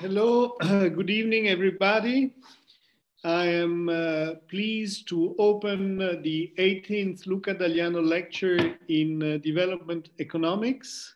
Hello, good evening, everybody. I am pleased to open the 18th Luca Dagliano lecture in development economics.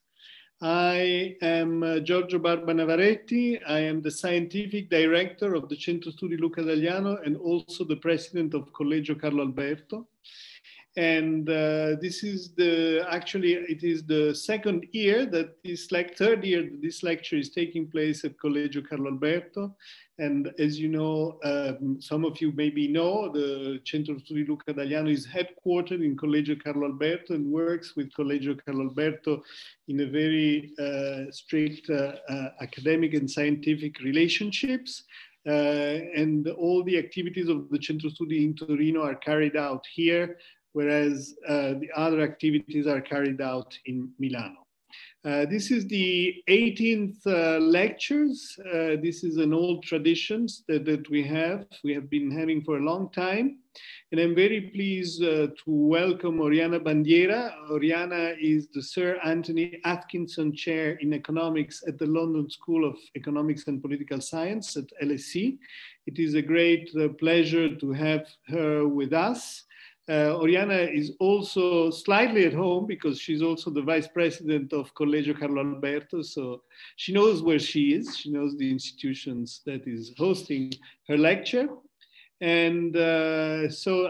I am Giorgio Barba Navaretti. I am the scientific director of the Centro Studi Luca Dagliano and also the president of Collegio Carlo Alberto. And this is it is the second year that third year that this lecture is taking place at Collegio Carlo Alberto. And as you know, some of you maybe know, the Centro Studi Luca Dagliano is headquartered in Collegio Carlo Alberto and works with Collegio Carlo Alberto in a very strict academic and scientific relationships. And all the activities of the Centro Studi in Torino are carried out here, whereas the other activities are carried out in Milano. This is the 18th lectures. This is an old tradition that we have been having for a long time. And I'm very pleased to welcome Oriana Bandiera. Oriana is the Sir Anthony Atkinson Chair in Economics at the London School of Economics and Political Science at LSE. It is a great pleasure to have her with us. Oriana is also slightly at home because she's also the vice president of Collegio Carlo Alberto. So she knows where she is. She knows the institutions that is hosting her lecture. And so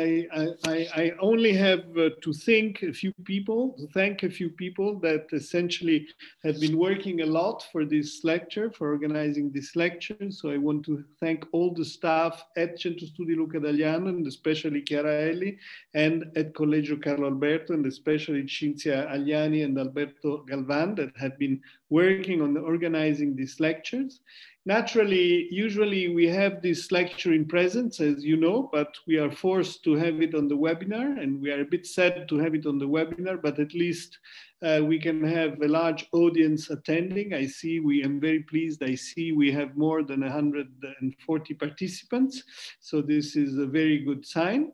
I only have to thank a few people that essentially have been working a lot for this lecture, for organizing this lecture. So I want to thank all the staff at Centro Studi Luca Dagliano, and especially Chiara Elli, and at Collegio Carlo Alberto, and especially Cinzia Agliani and Alberto Galvan, that have been working on organizing these lectures. Naturally, usually we have this lecture in presence, as you know, but we are forced to have it on the webinar, and we are a bit sad to have it on the webinar, but at least we can have a large audience attending. I am very pleased. I see we have more than 140 participants. So this is a very good sign.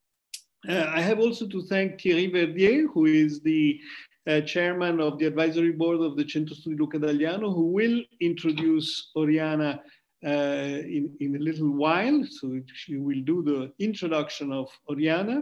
I have also to thank Thierry Verdier, who is the chairman of the advisory board of the Centro Studi Luca Dagliano, who will introduce Oriana in a little while. So she will do the introduction of Oriana.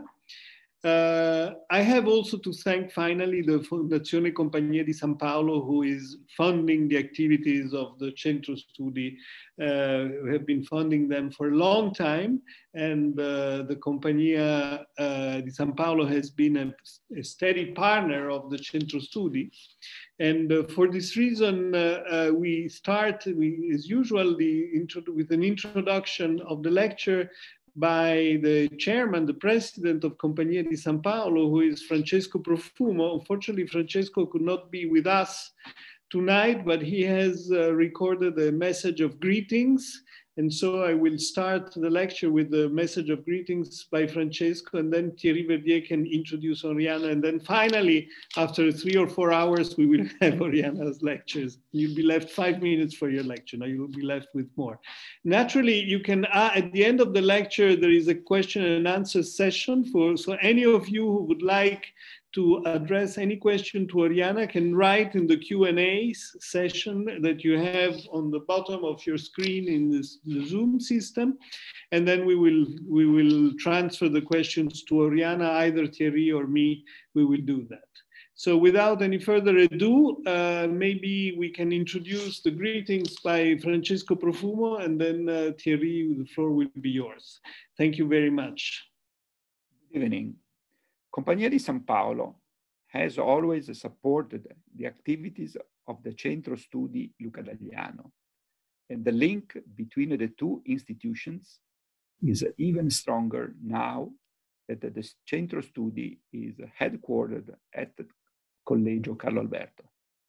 I have also to thank finally the Fondazione Compagnia di San Paolo, who is funding the activities of the Centro Studi. We have been funding them for a long time, and the Compagnia di San Paolo has been a steady partner of the Centro Studi. And for this reason, we start, as usual, with an introduction of the lecture by the chairman, the president of Compagnia di San Paolo, who is Francesco Profumo. Unfortunately, Francesco could not be with us tonight, but he has recorded a message of greetings. And so I will start the lecture with the message of greetings by Francesco, and then Thierry Verdier can introduce Oriana. And then finally, after 3 or 4 hours, we will have Oriana's lectures. You'll be left 5 minutes for your lecture. Now you will be left with more. Naturally, you can, at the end of the lecture, there is a question and answer session so any of you who would like to address any question to Oriana can write in the Q&A session that you have on the bottom of your screen in the Zoom system. And then we will transfer the questions to Oriana, either Thierry or me. We will do that. So without any further ado, maybe we can introduce the greetings by Francesco Profumo, and then Thierry, the floor will be yours. Thank you very much. Good evening. Compagnia di San Paolo has always supported the activities of the Centro Studi Luca Dagliano, and the link between the two institutions is even stronger now that the Centro Studi is headquartered at Collegio Carlo Alberto.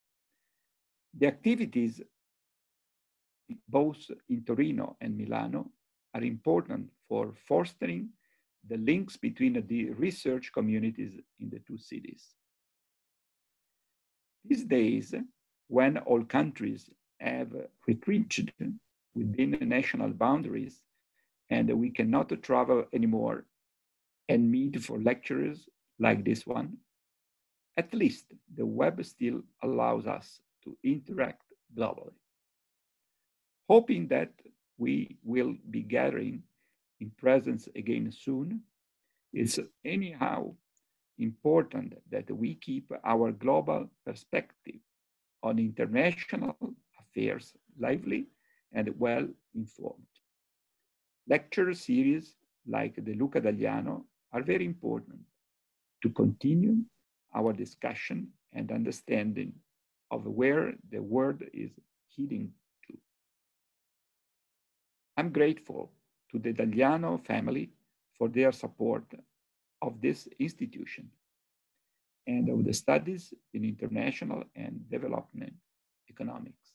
The activities both in Torino and Milano are important for fostering the links between the research communities in the two cities. These days, when all countries have retreated within the national boundaries and we cannot travel anymore and meet for lectures like this one, at least the web still allows us to interact globally. Hoping that we will be gathering in presence again soon, it's anyhow important that we keep our global perspective on international affairs lively and well informed. Lecture series like the Luca Dagliano are very important to continue our discussion and understanding of where the world is heading to. I'm grateful to the Dagliano family for their support of this institution and of the studies in international and development economics.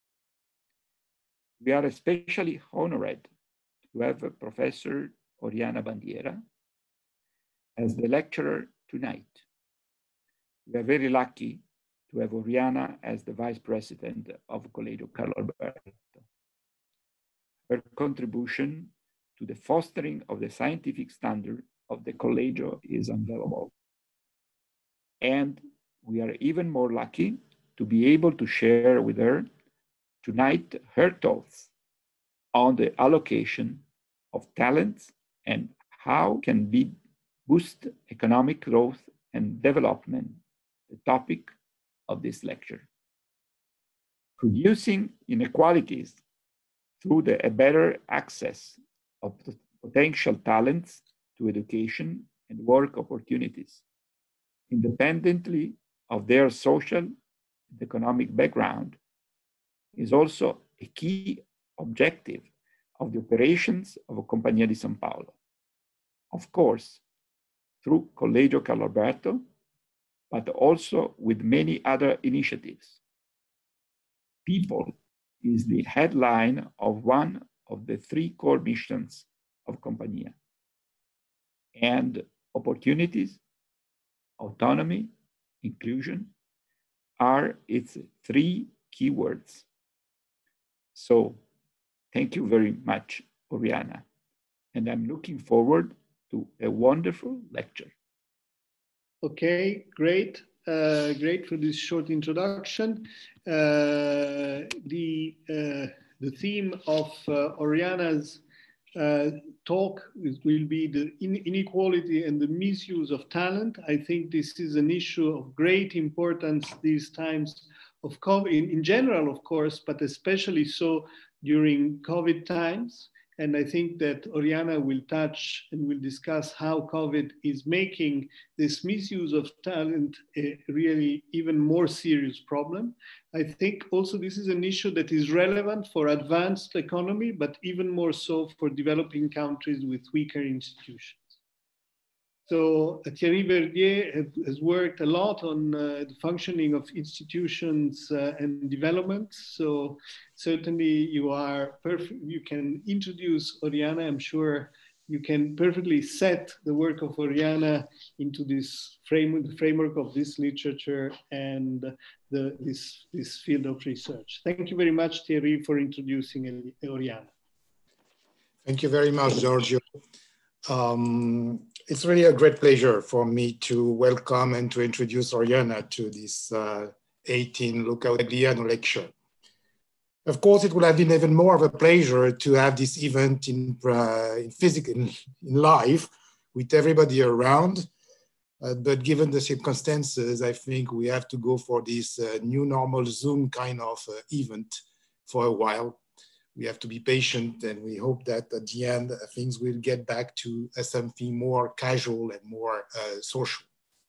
We are especially honored to have Professor Oriana Bandiera as the lecturer tonight. We are very lucky to have Oriana as the Vice President of Collegio Carlo Alberto. Her contribution to the fostering of the scientific standard of the Collegio is invaluable. And we are even more lucky to be able to share with her tonight her thoughts on the allocation of talents and how can be boost economic growth and development, the topic of this lecture. Reducing inequalities through a better access of potential talents to education and work opportunities, independently of their social and economic background, is also a key objective of the operations of Compagnia di San Paolo. Of course, through Collegio Carlo Alberto, but also with many other initiatives. People is the headline of one of the three core missions of Compagnia. And opportunities, autonomy, inclusion are its three keywords. So thank you very much, Oriana. And I'm looking forward to a wonderful lecture. Okay, great. Great for this short introduction. The theme of Oriana's talk will be the inequality and the misuse of talent. I think this is an issue of great importance these times of COVID, in general, of course, but especially so during COVID times. And I think that Oriana will touch and will discuss how COVID is making this misuse of talent a really even more serious problem. I think also this is an issue that is relevant for advanced economy, but even more so for developing countries with weaker institutions. So Thierry Verdier has worked a lot on the functioning of institutions and development. So certainly you are perfect. You can introduce Oriana. I'm sure you can perfectly set the work of Oriana into this framework of this literature and this field of research. Thank you very much, Thierry, for introducing Oriana. Thank you very much, Giorgio. It's really a great pleasure for me to welcome and to introduce Oriana to this 18 Luca Dagliano lecture. Of course, it would have been even more of a pleasure to have this event in live with everybody around. But given the circumstances, I think we have to go for this new normal Zoom kind of event for a while. We have to be patient, and we hope that at the end, things will get back to something more casual and more social.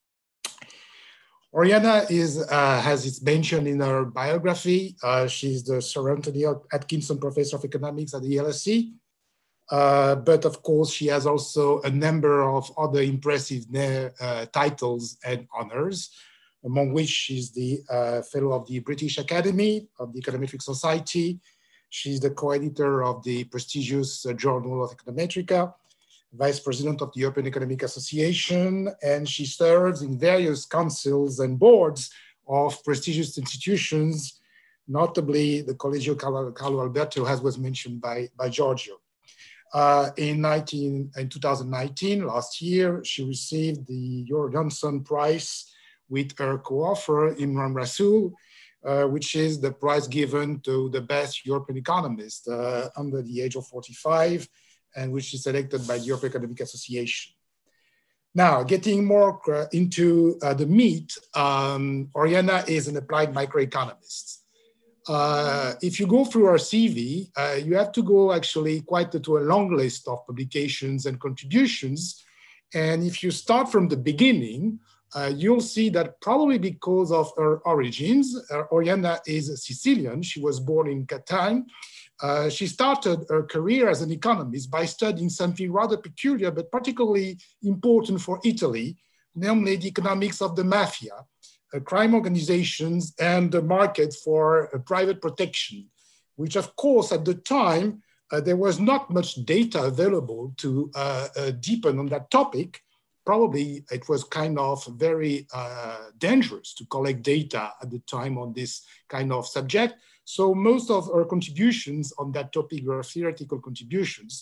Oriana has its mention in her biography. She's the Sir Anthony Atkinson Professor of Economics at the LSE. But of course, she has also a number of other impressive titles and honors, among which she's the Fellow of the British Academy of the Econometric Society. She's the co-editor of the prestigious Journal of Econometrica, Vice President of the European Economic Association, and she serves in various councils and boards of prestigious institutions, notably the Collegio Carlo Alberto, as was mentioned by Giorgio. In 2019, last year, she received the Johnson Prize with her co-author Imran Rasool, which is the prize given to the best European economist under the age of 45, and which is selected by the European Economic Association. Now, getting more into the meat, Oriana is an applied microeconomist. If you go through our CV, you have to go actually quite to a long list of publications and contributions. And if you start from the beginning, you'll see that probably because of her origins, Oriana is Sicilian. She was born in Catania. She started her career as an economist by studying something rather peculiar, but particularly important for Italy, namely the economics of the mafia, crime organizations, and the market for private protection, which of course at the time, there was not much data available to deepen on that topic. Probably it was kind of very dangerous to collect data at the time on this kind of subject. So most of our contributions on that topic were theoretical contributions,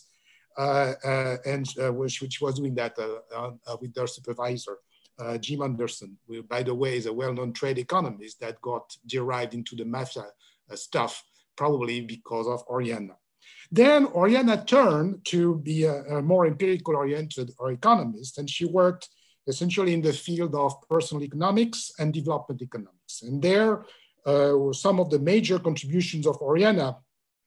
which was doing that with their supervisor, Jim Anderson, who, by the way, is a well-known trade economist that got derived into the mafia stuff, probably because of Oriana. Then Oriana turned to be a more empirical-oriented economist, and she worked essentially in the field of personal economics and development economics. And there, some of the major contributions of Oriana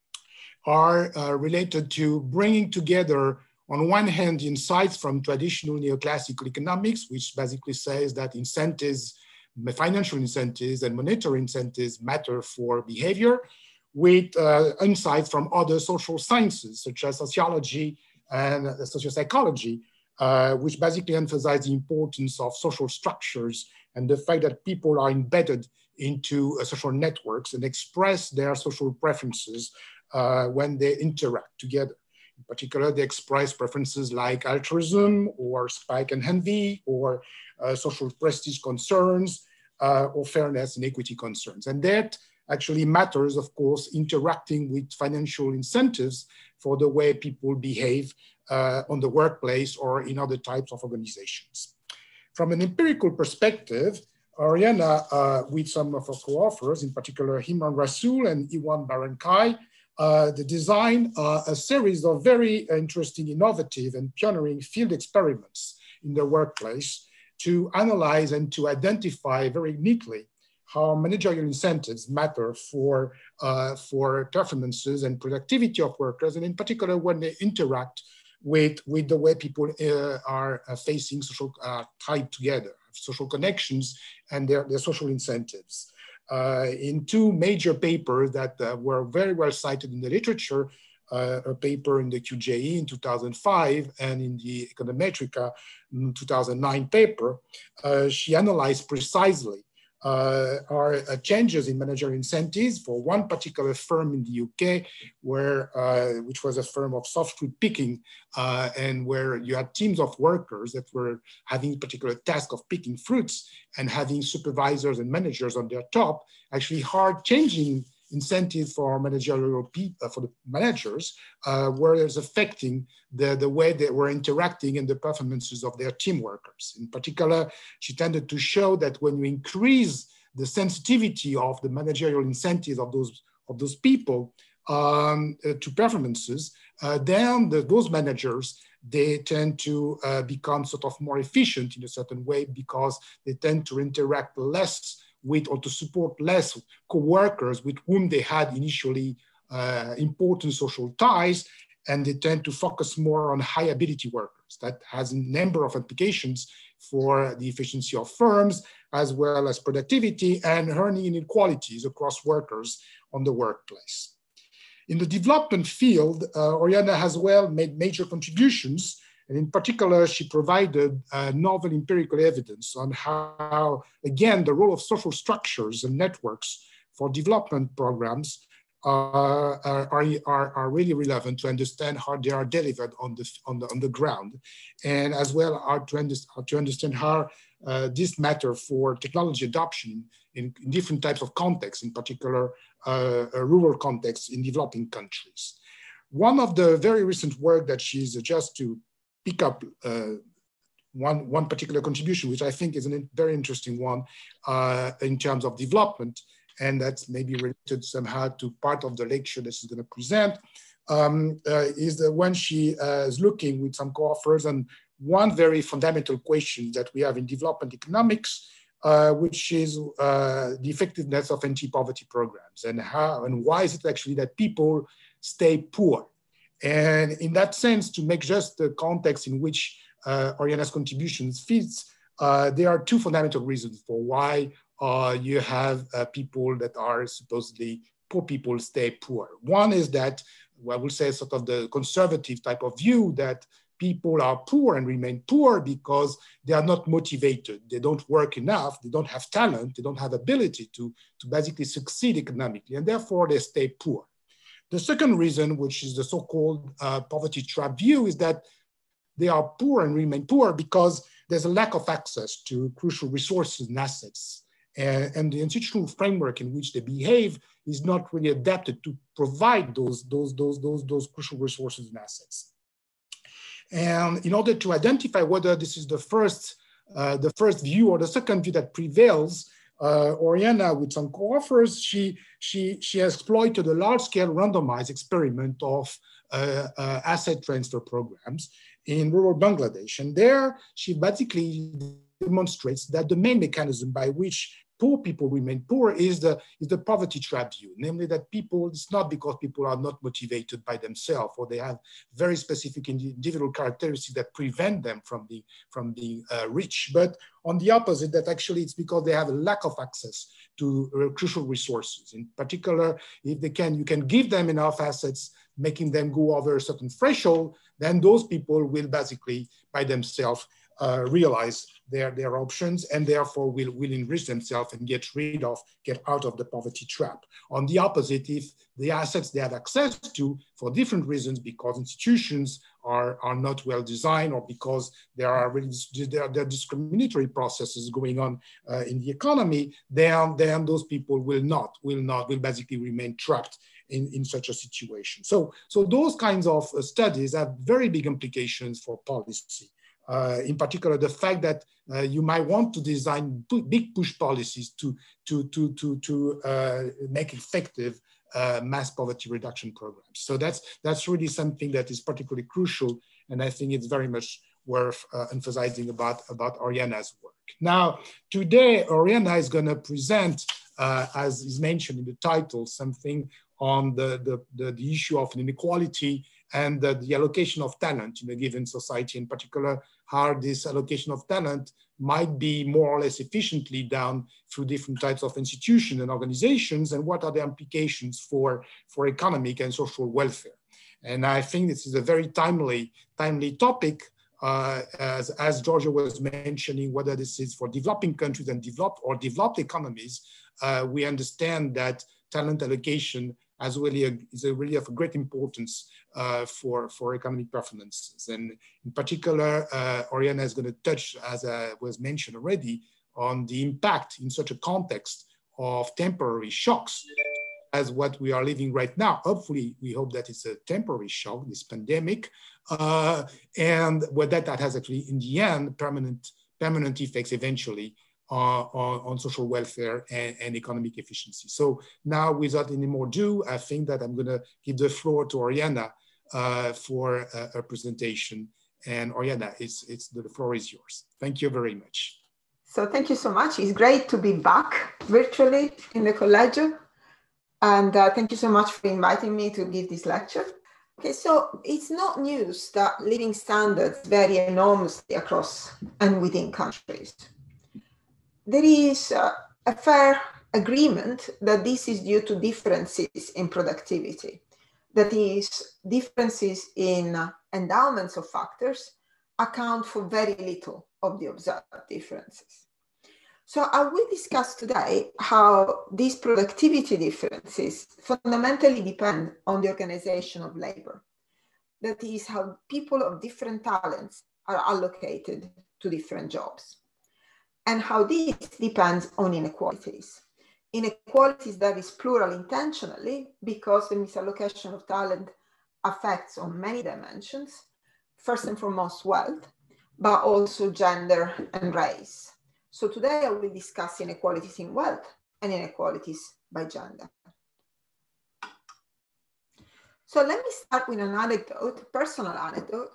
are related to bringing together, on one hand, insights from traditional neoclassical economics, which basically says that incentives, financial incentives and monetary incentives matter for behavior, with insights from other social sciences, such as sociology and sociopsychology, which basically emphasize the importance of social structures and the fact that people are embedded into social networks and express their social preferences when they interact together. In particular, they express preferences like altruism or spike and envy or social prestige concerns or fairness and equity concerns. And that actually matters, of course, interacting with financial incentives for the way people behave on the workplace or in other types of organizations. From an empirical perspective, Oriana, with some of our co-authors, in particular Himran Rasool and Iwan Barankai, they designed a series of very interesting, innovative, and pioneering field experiments in the workplace to analyze and to identify very neatly how managerial incentives matter for performances and productivity of workers, and in particular when they interact with the way people are facing social, tied together, social connections and their social incentives. In two major papers that were very well cited in the literature, a paper in the QJE in 2005 and in the Econometrica 2009 paper, she analyzed precisely changes in managerial incentives for one particular firm in the UK, which was a firm of soft fruit picking, and where you had teams of workers that were having a particular task of picking fruits and having supervisors and managers on their top, actually hard changing incentives for managerial people, for the managers, where it's affecting the way they were interacting and the performances of their team workers. In particular, she tended to show that when you increase the sensitivity of the managerial incentives of those people to performances, then those managers, they tend to become sort of more efficient in a certain way because they tend to interact less with or to support less co-workers with whom they had initially important social ties, and they tend to focus more on high ability workers. That has a number of implications for the efficiency of firms, as well as productivity and earning inequalities across workers on the workplace. In the development field, Oriana has well made major contributions. And in particular, she provided novel empirical evidence on how, again, the role of social structures and networks for development programs are really relevant to understand how they are delivered on the ground, and as well to understand how this matter for technology adoption in different types of contexts, in particular rural contexts in developing countries. One of the very recent work that she's just to pick up one particular contribution, which I think is a very interesting one in terms of development, and that's maybe related somehow to part of the lecture that she's going to present, is that when she is looking with some co-authors on one very fundamental question that we have in development economics, which is the effectiveness of anti-poverty programs, and how and why is it actually that people stay poor. And in that sense, to make just the context in which Oriana's contributions fits, there are two fundamental reasons for why you have people that are supposedly poor people stay poor. One is that, well, I will say sort of the conservative type of view that people are poor and remain poor because they are not motivated. They don't work enough. They don't have talent. They don't have ability to basically succeed economically, and therefore they stay poor. The second reason, which is the so-called poverty trap view, is that they are poor and remain poor because there's a lack of access to crucial resources and assets. And the institutional framework in which they behave is not really adapted to provide those crucial resources and assets. And in order to identify whether this is the first view or the second view that prevails, Oriana, with some co-authors, she has exploited a large-scale randomized experiment of asset transfer programs in rural Bangladesh. And there, she basically demonstrates that the main mechanism by which poor people remain poor is the poverty trap view, namely that people, it's not because people are not motivated by themselves or they have very specific individual characteristics that prevent them from being rich, but on the opposite, that actually it's because they have a lack of access to crucial resources. In particular, if you can give them enough assets, making them go over a certain threshold, then those people will basically by themselves realize their options and therefore will enrich themselves and get out of the poverty trap. On the opposite, if the assets they have access to for different reasons, because institutions are not well designed or because there are discriminatory processes going on in the economy, then those people will basically remain trapped in such a situation. So those kinds of studies have very big implications for policy. In particular, the fact that you might want to design big push policies to make effective mass poverty reduction programs. So that's really something that is particularly crucial, and I think it's very much worth emphasizing about Oriana's work. Now, today, Oriana is going to present, as is mentioned in the title, something on the issue of inequality and the allocation of talent in a given society, in particular, how this allocation of talent might be more or less efficiently done through different types of institutions and organizations, and what are the implications for economic and social welfare. And I think this is a very timely topic, as Giorgio was mentioning, whether this is for developing countries and developed economies, we understand that talent allocation is really of great importance for economic performances. And in particular, Oriana is going to touch, as was mentioned already, on the impact in such a context of temporary shocks as what we are living right now. Hopefully, we hope that it's a temporary shock, this pandemic, and that has actually, in the end, permanent effects eventually on social welfare and economic efficiency. So now, without any more ado, I think that I'm going to give the floor to Oriana for a presentation. And Oriana, the floor is yours. Thank you very much. So thank you so much. It's great to be back virtually in the Collegio. And thank you so much for inviting me to give this lecture. Okay, so it's not news that living standards vary enormously across and within countries. There is a fair agreement that this is due to differences in productivity. That is, differences in endowments of factors account for very little of the observed differences. So I will discuss today how these productivity differences fundamentally depend on the organization of labor. That is, how people of different talents are allocated to different jobs, and how this depends on inequalities. Inequalities that is plural intentionally because the misallocation of talent affects on many dimensions, first and foremost wealth, but also gender and race. So today I will discuss inequalities in wealth and inequalities by gender. So let me start with an anecdote, a personal anecdote.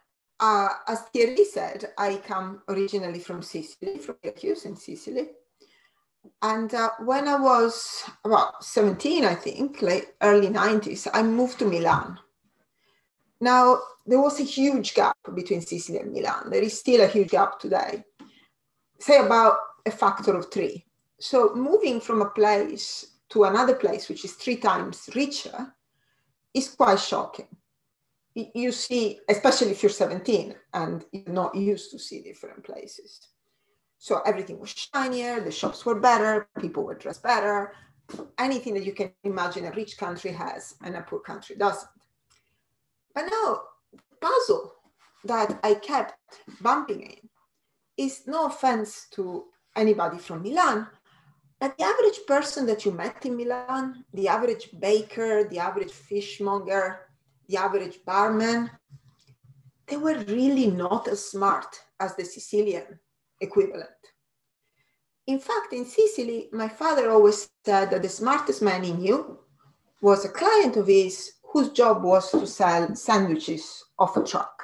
As Thierry said, I come originally from Sicily, from Syracuse in Sicily. And when I was about 17, I think, like early 90s, I moved to Milan. Now, there was a huge gap between Sicily and Milan. There is still a huge gap today, say about a factor of 3. So moving from a place to another place, which is 3 times richer, is quite shocking. You see, especially if you're 17 and you're not used to see different places. So everything was shinier, the shops were better, people were dressed better, anything that you can imagine a rich country has and a poor country doesn't. But now, the puzzle that I kept bumping in is, no offense to anybody from Milan, but the average person that you met in Milan, the average baker, the average fishmonger, the average barman, they were really not as smart as the Sicilian equivalent. In fact, in Sicily, my father always said that the smartest man he knew was a client of his whose job was to sell sandwiches off a truck.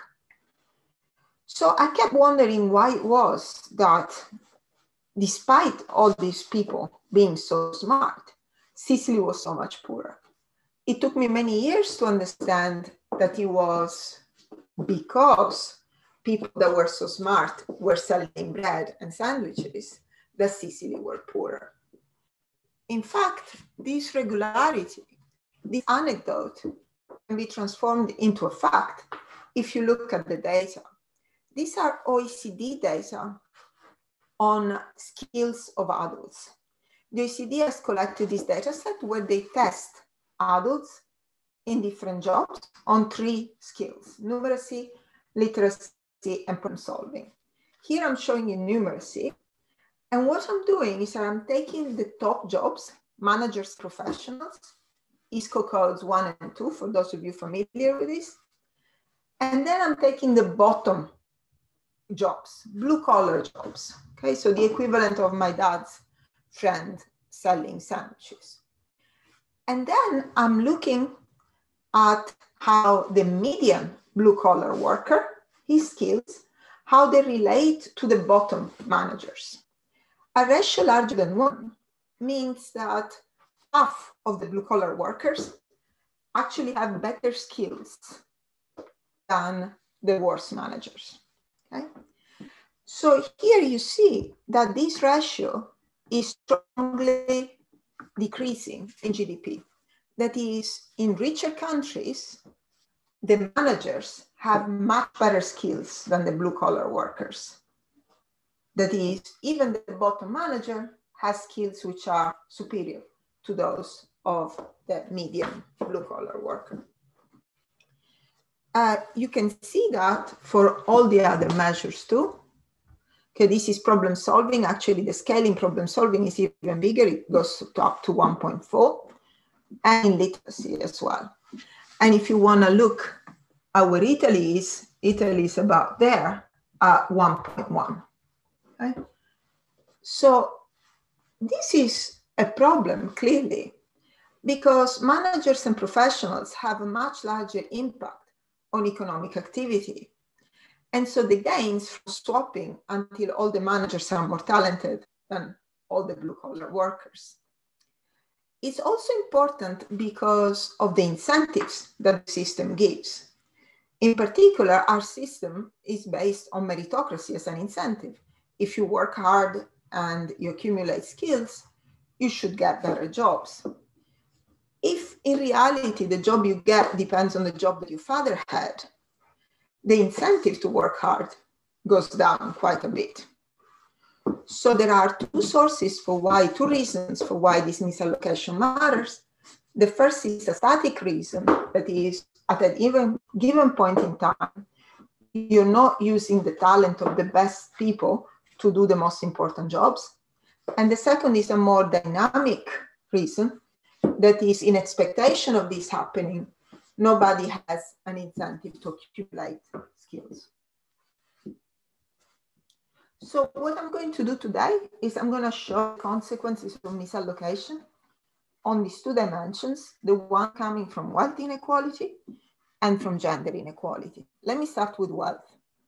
So I kept wondering why it was that despite all these people being so smart, Sicily was so much poorer. It took me many years to understand that it was because people that were so smart were selling bread and sandwiches that Sicily were poorer. In fact, this regularity, this anecdote can be transformed into a fact if you look at the data. These are OECD data on skills of adults. The OECD has collected this data set where they test adults in different jobs on 3 skills: numeracy, literacy, and problem solving. Here I'm showing you numeracy. And what I'm doing is that I'm taking the top jobs, managers, professionals, ISCO codes 1 and 2, for those of you familiar with this. And then I'm taking the bottom jobs, blue collar jobs. Okay, so the equivalent of my dad's friend selling sandwiches. And then I'm looking at how the median blue collar worker, his skills, how they relate to the bottom managers. A ratio larger than 1 means that half of the blue collar workers actually have better skills than the worst managers. Okay? So here you see that this ratio is strongly decreasing in GDP. That is, in richer countries, the managers have much better skills than the blue collar workers. That is, even the bottom manager has skills which are superior to those of the median blue collar worker. You can see that for all the other measures too. Okay, this is problem solving. Actually, the scale in problem solving is even bigger. It goes up to 1.4, and in literacy as well. And if you want to look at where Italy is about there at 1.1. Okay? So this is a problem, clearly, because managers and professionals have a much larger impact on economic activity. And so the gains from swapping until all the managers are more talented than all the blue-collar workers. It's also important because of the incentives that the system gives. In particular, our system is based on meritocracy as an incentive. If you work hard and you accumulate skills, you should get better jobs. If in reality the job you get depends on the job that your father had, the incentive to work hard goes down quite a bit. So there are two reasons for why this misallocation matters. The first is a static reason, that is, at a given point in time, you're not using the talent of the best people to do the most important jobs. And the second is a more dynamic reason, that is, in expectation of this happening, nobody has an incentive to accumulate skills. So what I'm going to do today is I'm going to show consequences of misallocation on these two dimensions, the one coming from wealth inequality and from gender inequality. Let me start with wealth.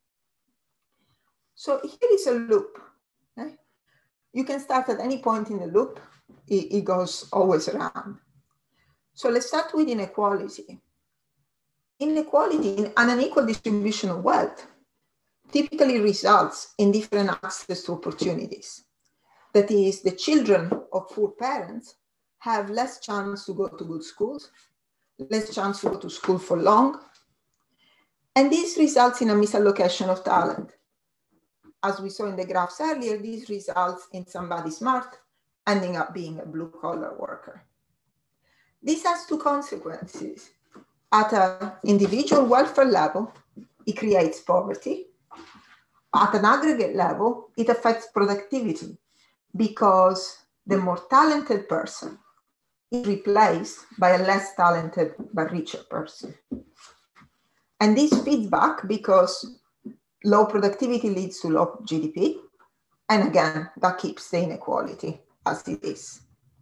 So here is a loop. Okay? You can start at any point in the loop. It goes always around. So let's start with inequality. Inequality in an unequal distribution of wealth typically results in different access to opportunities. That is, the children of poor parents have less chance to go to good schools, less chance to go to school for long, and this results in a misallocation of talent. As we saw in the graphs earlier, this results in somebody smart ending up being a blue-collar worker. This has two consequences. At an individual welfare level, it creates poverty. At an aggregate level, it affects productivity because the more talented person is replaced by a less talented but richer person. And this feeds back because low productivity leads to low GDP. And again, that keeps the inequality as it is.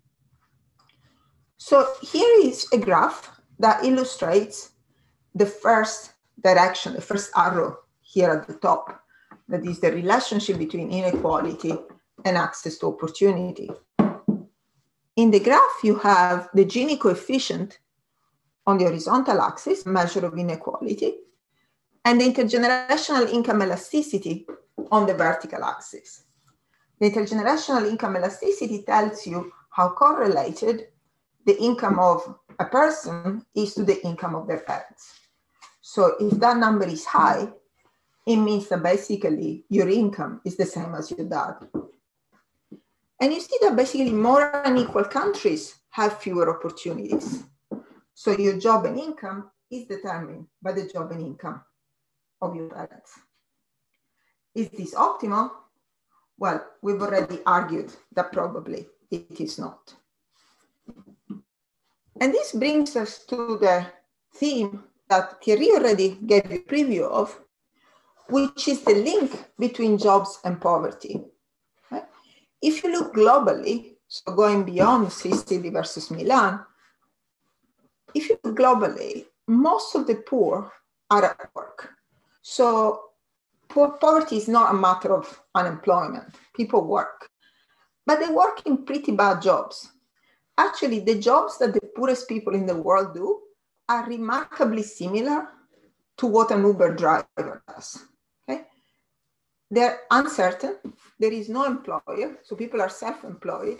So here is a graph that illustrates the first direction, the first arrow here at the top. That is the relationship between inequality and access to opportunity. In the graph, you have the Gini coefficient on the horizontal axis, measure of inequality, and the intergenerational income elasticity on the vertical axis. The intergenerational income elasticity tells you how correlated the income of a person is to the income of their parents. So if that number is high, it means that basically your income is the same as your dad. And you see that basically more unequal countries have fewer opportunities. So your job and income is determined by the job and income of your parents. Is this optimal? Well, we've already argued that probably it is not. And this brings us to the theme that Thierry already gave you a preview of, which is the link between jobs and poverty. Right? If you look globally, so going beyond Sicily versus Milan, if you look globally, most of the poor are at work. So poverty is not a matter of unemployment. People work, but they work in pretty bad jobs. Actually, the jobs that the poorest people in the world do are remarkably similar to what an Uber driver does. Okay? They're uncertain. There is no employer, so people are self-employed.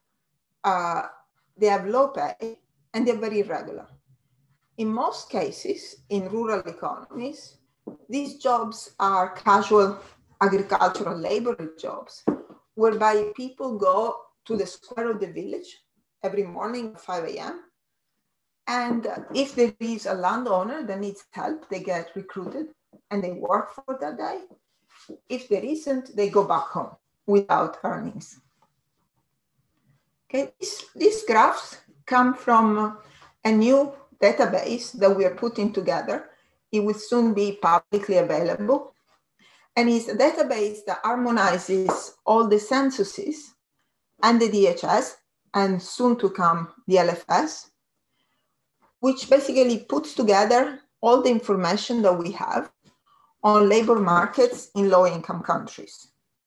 They have low pay, and they're very irregular. In most cases, in rural economies, these jobs are casual agricultural labor jobs, whereby people go to the square of the village every morning at 5 a.m. And if there is a landowner that needs help, they get recruited and they work for that day. If there isn't, they go back home without earnings. Okay, these graphs come from a new database that we are putting together. It will soon be publicly available. And it's a database that harmonizes all the censuses and the DHS, and soon to come the LFS, which basically puts together all the information that we have on labor markets in low-income countries.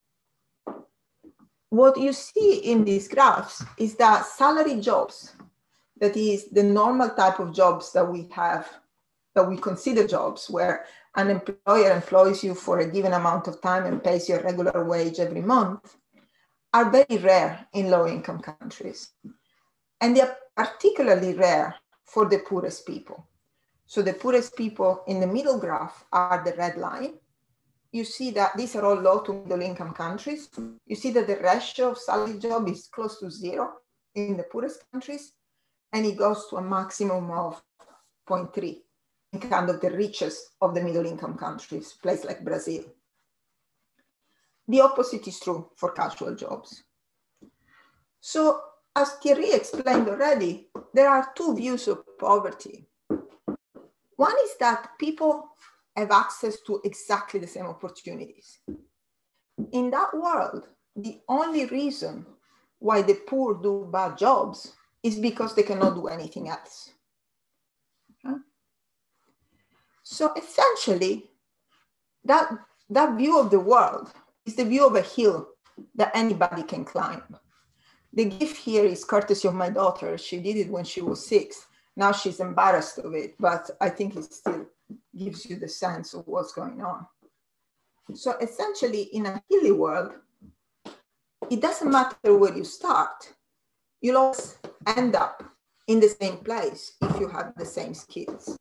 What you see in these graphs is that salary jobs, that is the normal type of jobs that we have, that we consider jobs, where an employer employs you for a given amount of time and pays you a regular wage every month, are very rare in low-income countries. And they are particularly rare for the poorest people. So the poorest people in the middle graph are the red line. You see that these are all low to middle income countries. You see that the ratio of salary job is close to 0 in the poorest countries, and it goes to a maximum of 0.3 in kind of the richest of the middle income countries, places like Brazil. The opposite is true for casual jobs. So as Thierry explained already, there are two views of poverty. One is that people have access to exactly the same opportunities. In that world, the only reason why the poor do bad jobs is because they cannot do anything else. Okay? So essentially, that view of the world is the view of a hill that anybody can climb. The gift here is courtesy of my daughter. She did it when she was 6. Now she's embarrassed of it, but I think it still gives you the sense of what's going on. So essentially, in a hilly world, it doesn't matter where you start. You'll always end up in the same place if you have the same skills.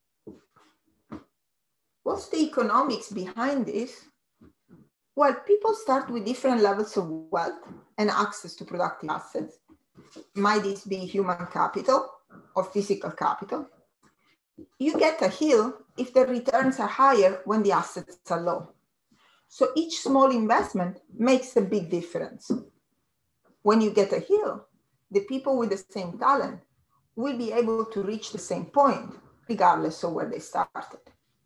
What's the economics behind this? Well, people start with different levels of wealth and access to productive assets. Might this be human capital or physical capital? You get a hill if the returns are higher when the assets are low. So each small investment makes a big difference. When you get a hill, the people with the same talent will be able to reach the same point, regardless of where they started.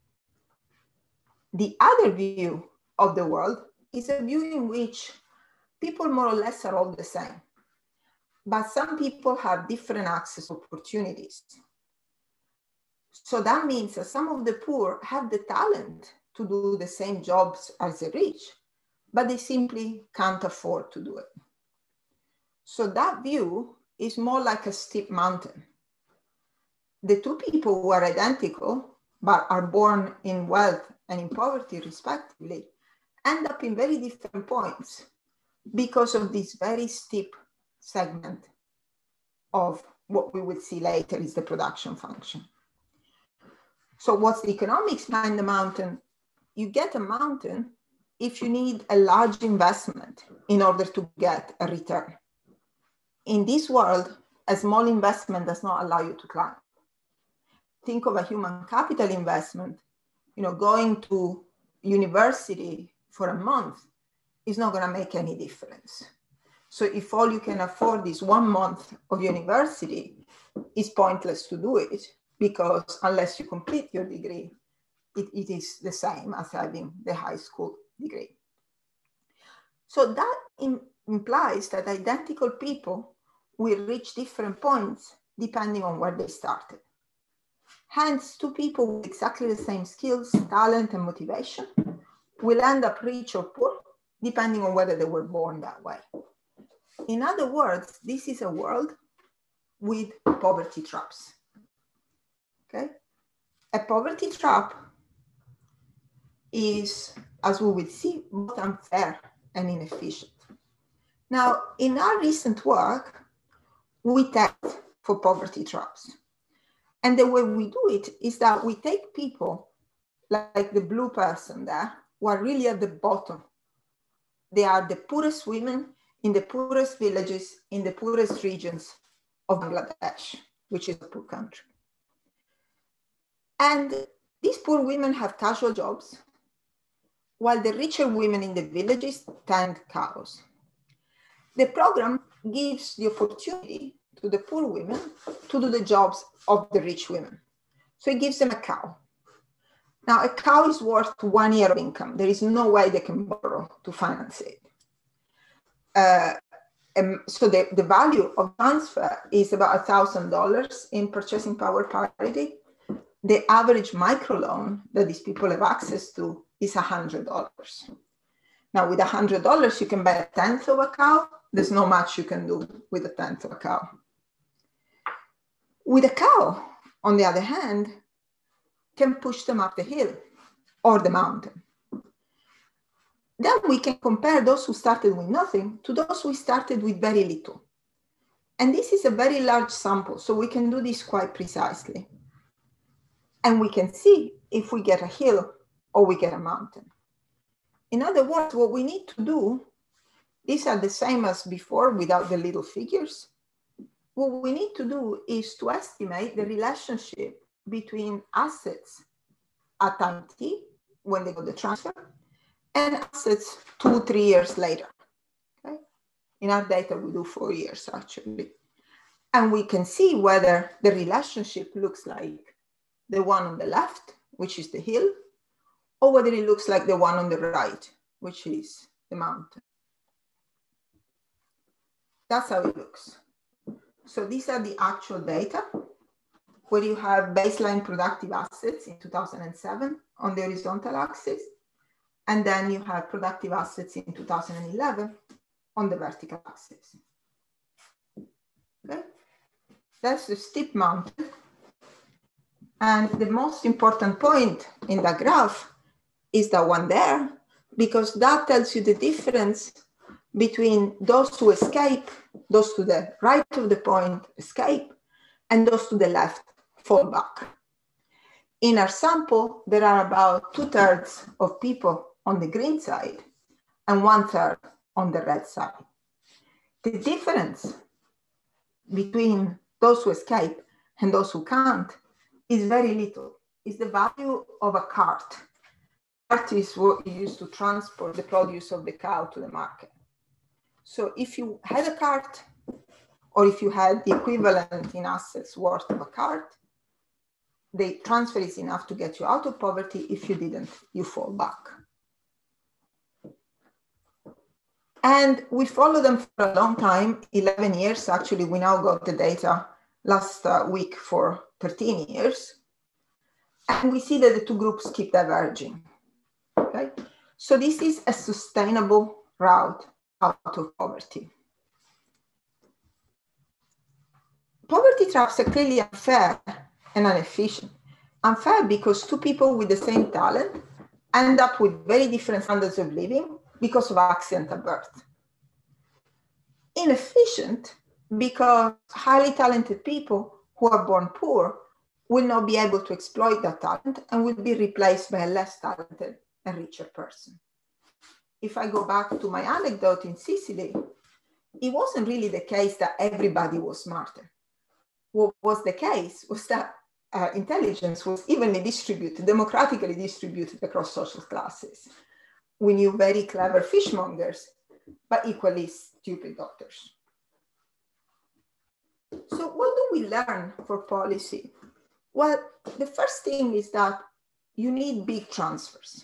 The other view of the world is a view in which people more or less are all the same, but some people have different access opportunities. So that means that some of the poor have the talent to do the same jobs as the rich, but they simply can't afford to do it. So that view is more like a steep mountain. The two people who are identical, but are born in wealth and in poverty respectively, end up in very different points because of this very steep segment of what we will see later is the production function. So what's the economics behind the mountain? You get a mountain if you need a large investment in order to get a return. In this world, a small investment does not allow you to climb. Think of a human capital investment. Going to university for a month is not going to make any difference. So if all you can afford is 1 month of university, it's pointless to do it, because unless you complete your degree, it is the same as having the high school degree. So that implies that identical people will reach different points depending on where they started. Hence, two people with exactly the same skills, talent, and motivation will end up rich or poor, depending on whether they were born that way. In other words, this is a world with poverty traps. Okay? A poverty trap is, as we will see, both unfair and inefficient. Now, in our recent work, we test for poverty traps. And the way we do it is that we take people like the blue person there, who are really at the bottom. They are the poorest women in the poorest villages, in the poorest regions of Bangladesh, which is a poor country. And these poor women have casual jobs, while the richer women in the villages tend cows. The program gives the opportunity to the poor women to do the jobs of the rich women. So it gives them a cow. Now, a cow is worth 1 year of income. There is no way they can borrow to finance it. So the value of transfer is about $1,000 in purchasing power parity. The average microloan that these people have access to is $100. Now, with $100, you can buy a tenth of a cow. There's not much you can do with a tenth of a cow. With a cow, on the other hand, can push them up the hill or the mountain. Then we can compare those who started with nothing to those who started with very little. And this is a very large sample, so we can do this quite precisely. And we can see if we get a hill or we get a mountain. In other words, what we need to do, these are the same as before without the little figures. What we need to do is to estimate the relationship between assets at time t, when they got the transfer, and assets 2-3 years later. Okay? In our data, we do 4 years actually. And we can see whether the relationship looks like the one on the left, which is the hill, or whether it looks like the one on the right, which is the mountain. That's how it looks. So these are the actual data where you have baseline productive assets in 2007 on the horizontal axis, and then you have productive assets in 2011 on the vertical axis. Okay? That's the steep mountain. And the most important point in the graph is the one there, because that tells you the difference between those who escape, those to the right of the point escape, and those to the left fall back. In our sample, there are about 2/3 of people on the green side and 1/3 on the red side. The difference between those who escape and those who can't is very little. It's the value of a cart. Cart is what you use to transport the produce of the cow to the market. So if you had a cart, or if you had the equivalent in assets worth of a cart, the transfer is enough to get you out of poverty. If you didn't, you fall back. And we follow them for a long time, 11 years. Actually, we now got the data last week for 13 years. And we see that the two groups keep diverging. Okay? So this is a sustainable route out of poverty. Poverty traps are clearly unfair and inefficient. Unfair because two people with the same talent end up with very different standards of living because of accident at birth. Inefficient because highly talented people who are born poor will not be able to exploit that talent and will be replaced by a less talented and richer person. If I go back to my anecdote in Sicily, it wasn't really the case that everybody was smarter. What was the case was that intelligence was evenly distributed, democratically distributed across social classes. We knew very clever fishmongers, but equally stupid doctors. So what do we learn for policy? Well, the first thing is that you need big transfers.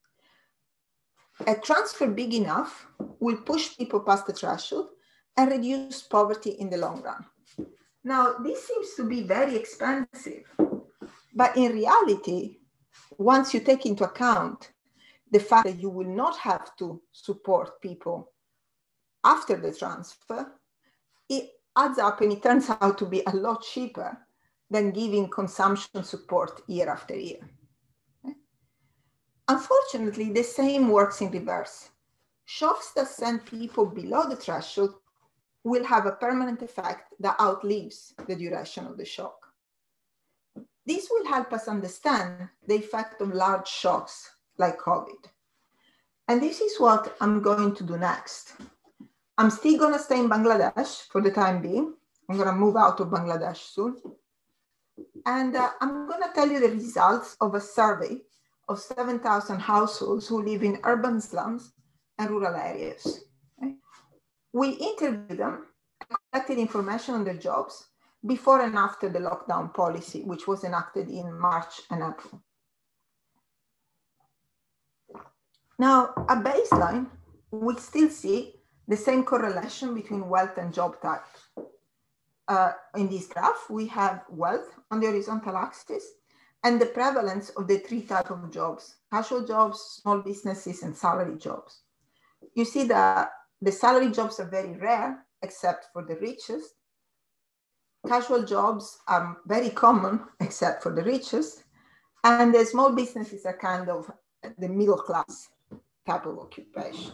A transfer big enough will push people past the threshold and reduce poverty in the long run. Now, this seems to be very expensive, but in reality, once you take into account the fact that you will not have to support people after the transfer, it adds up and it turns out to be a lot cheaper than giving consumption support year after year. Okay? Unfortunately, the same works in reverse. Shocks that send people below the threshold will have a permanent effect that outlives the duration of the shock. This will help us understand the effect of large shocks like COVID. And this is what I'm going to do next. I'm still going to stay in Bangladesh for the time being. I'm going to move out of Bangladesh soon. And I'm going to tell you the results of a survey of 7,000 households who live in urban slums and rural areas. Okay? We interviewed them and collected information on their jobs before and after the lockdown policy, which was enacted in March and April. Now, at baseline, we still see the same correlation between wealth and job type. In this graph, we have wealth on the horizontal axis and the prevalence of the three types of jobs: casual jobs, small businesses, and salary jobs. You see that the salary jobs are very rare, except for the richest. Casual jobs are very common, except for the richest. And the small businesses are kind of the middle class type of occupation.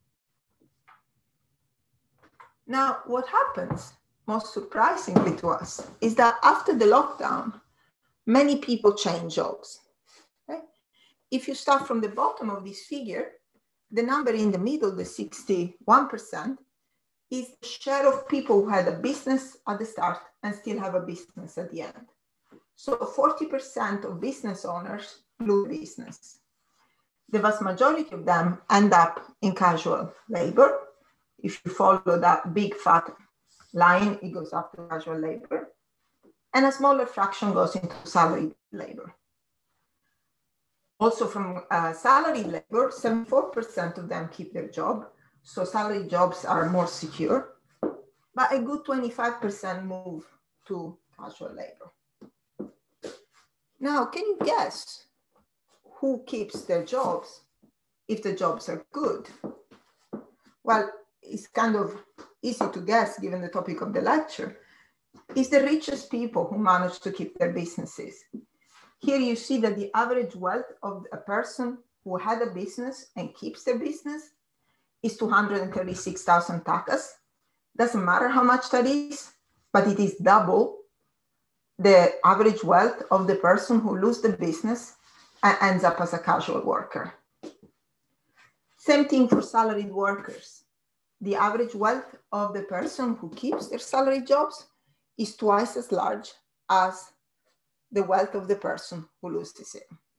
Now, what happens, most surprisingly to us, is that after the lockdown, many people change jobs. Okay? If you start from the bottom of this figure, the number in the middle, the 61%, is the share of people who had a business at the start and still have a business at the end. So 40% of business owners lose business. The vast majority of them end up in casual labor. If you follow that big fat line, it goes up to casual labor. And a smaller fraction goes into salaried labor. Also from salaried labor, 74% of them keep their job. So salaried jobs are more secure, but a good 25% move to casual labor. Now, can you guess who keeps their jobs if the jobs are good? Well, it's kind of easy to guess given the topic of the lecture. It's the richest people who manage to keep their businesses. Here you see that the average wealth of a person who had a business and keeps their business is 236,000 takas. Doesn't matter how much that is, but it is double the average wealth of the person who loses the business and ends up as a casual worker. Same thing for salaried workers. The average wealth of the person who keeps their salaried jobs is twice as large as the wealth of the person who loses it.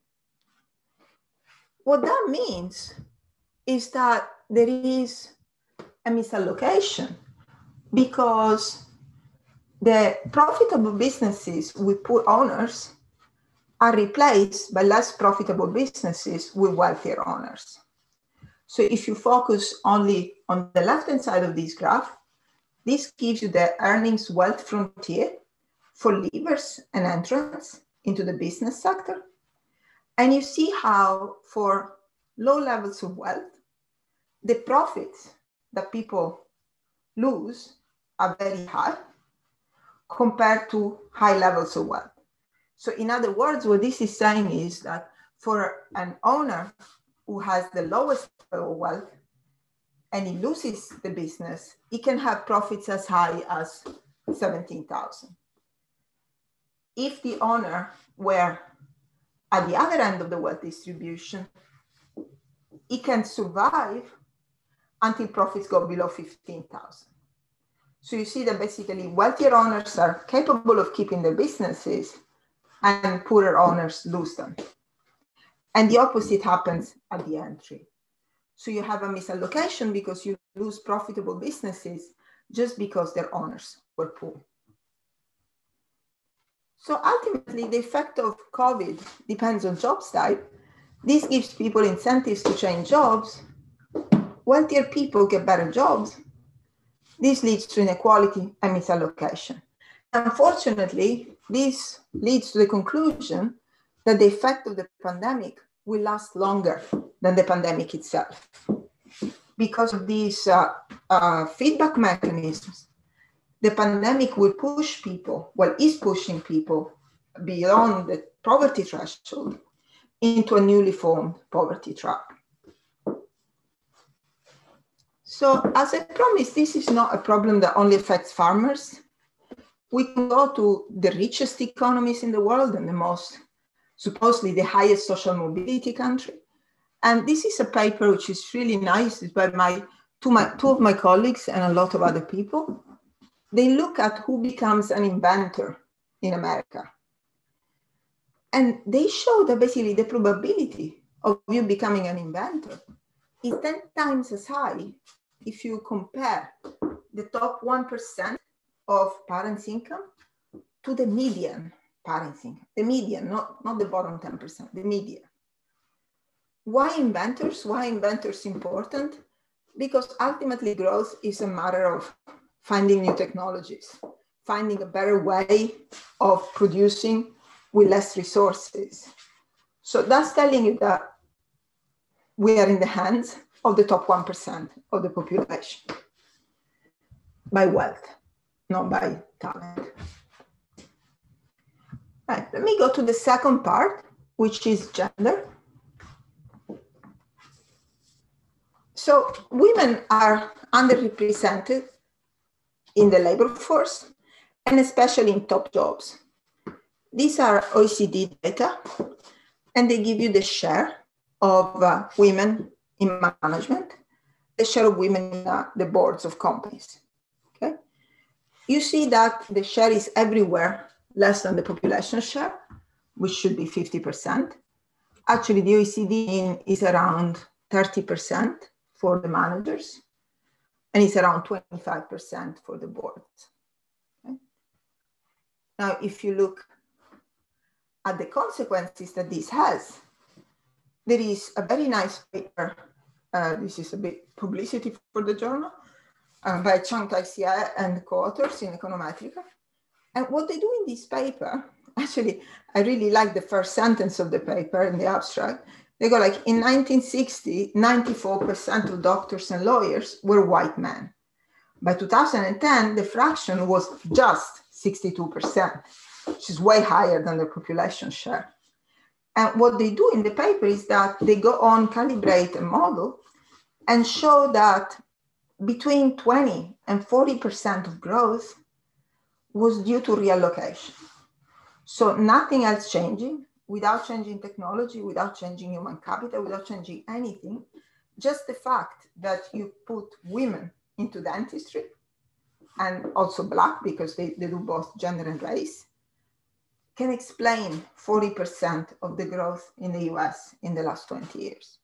What that means is that there is a misallocation because the profitable businesses with poor owners are replaced by less profitable businesses with wealthier owners. So if you focus only on the left-hand side of this graph, this gives you the earnings wealth frontier for leavers and entrants into the business sector. And you see how for low levels of wealth, the profits that people lose are very high compared to high levels of wealth. So in other words, what this is saying is that for an owner who has the lowest level of wealth and he loses the business, he can have profits as high as 17,000. If the owner were at the other end of the wealth distribution, he can survive until profits go below 15,000. So you see that basically wealthier owners are capable of keeping their businesses and poorer owners lose them. And the opposite happens at the entry. So you have a misallocation because you lose profitable businesses just because their owners were poor. So ultimately, the effect of COVID depends on jobs type. This gives people incentives to change jobs. Wealthier people get better jobs. This leads to inequality and misallocation. Unfortunately, this leads to the conclusion that the effect of the pandemic will last longer than the pandemic itself. Because of these feedback mechanisms, the pandemic will push people, well, is pushing people beyond the poverty threshold into a newly formed poverty trap. So as I promised, this is not a problem that only affects farmers. We can go to the richest economies in the world and the most, supposedly the highest social mobility country. And this is a paper which is really nice. It's by two of my colleagues and a lot of other people. They look at who becomes an inventor in America. And they show that basically the probability of you becoming an inventor is 10 times as high if you compare the top 1% of parents' income to the median parents' income. The median, not the bottom 10%, the median. Why inventors? Why inventors important? Because ultimately growth is a matter of finding new technologies, finding a better way of producing with less resources. So that's telling you that we are in the hands of the top 1% of the population by wealth, not by talent. Right, let me go to the second part, which is gender. So women are underrepresented in the labor force, and especially in top jobs. These are OECD data, and they give you the share of women in management, the share of women in the boards of companies. Okay, you see that the share is everywhere less than the population share, which should be 50%. Actually, the OECD is around 30% for the managers, and it's around 25% for the boards. Okay? Now, if you look at the consequences that this has, there is a very nice paper. This is a bit publicity for the journal by Chang Tai-Hsieh and co-authors in Econometrica. And what they do in this paper, actually, I really like the first sentence of the paper in the abstract. They go like, in 1960, 94% of doctors and lawyers were white men. By 2010, the fraction was just 62%, which is way higher than the population share. And what they do in the paper is that they go on, calibrate a model and show that between 20 and 40% of growth was due to reallocation. So nothing else changing, without changing technology, without changing human capital, without changing anything, just the fact that you put women into dentistry, and also Black, because they do both gender and race, can explain 40% of the growth in the US in the last 20 years.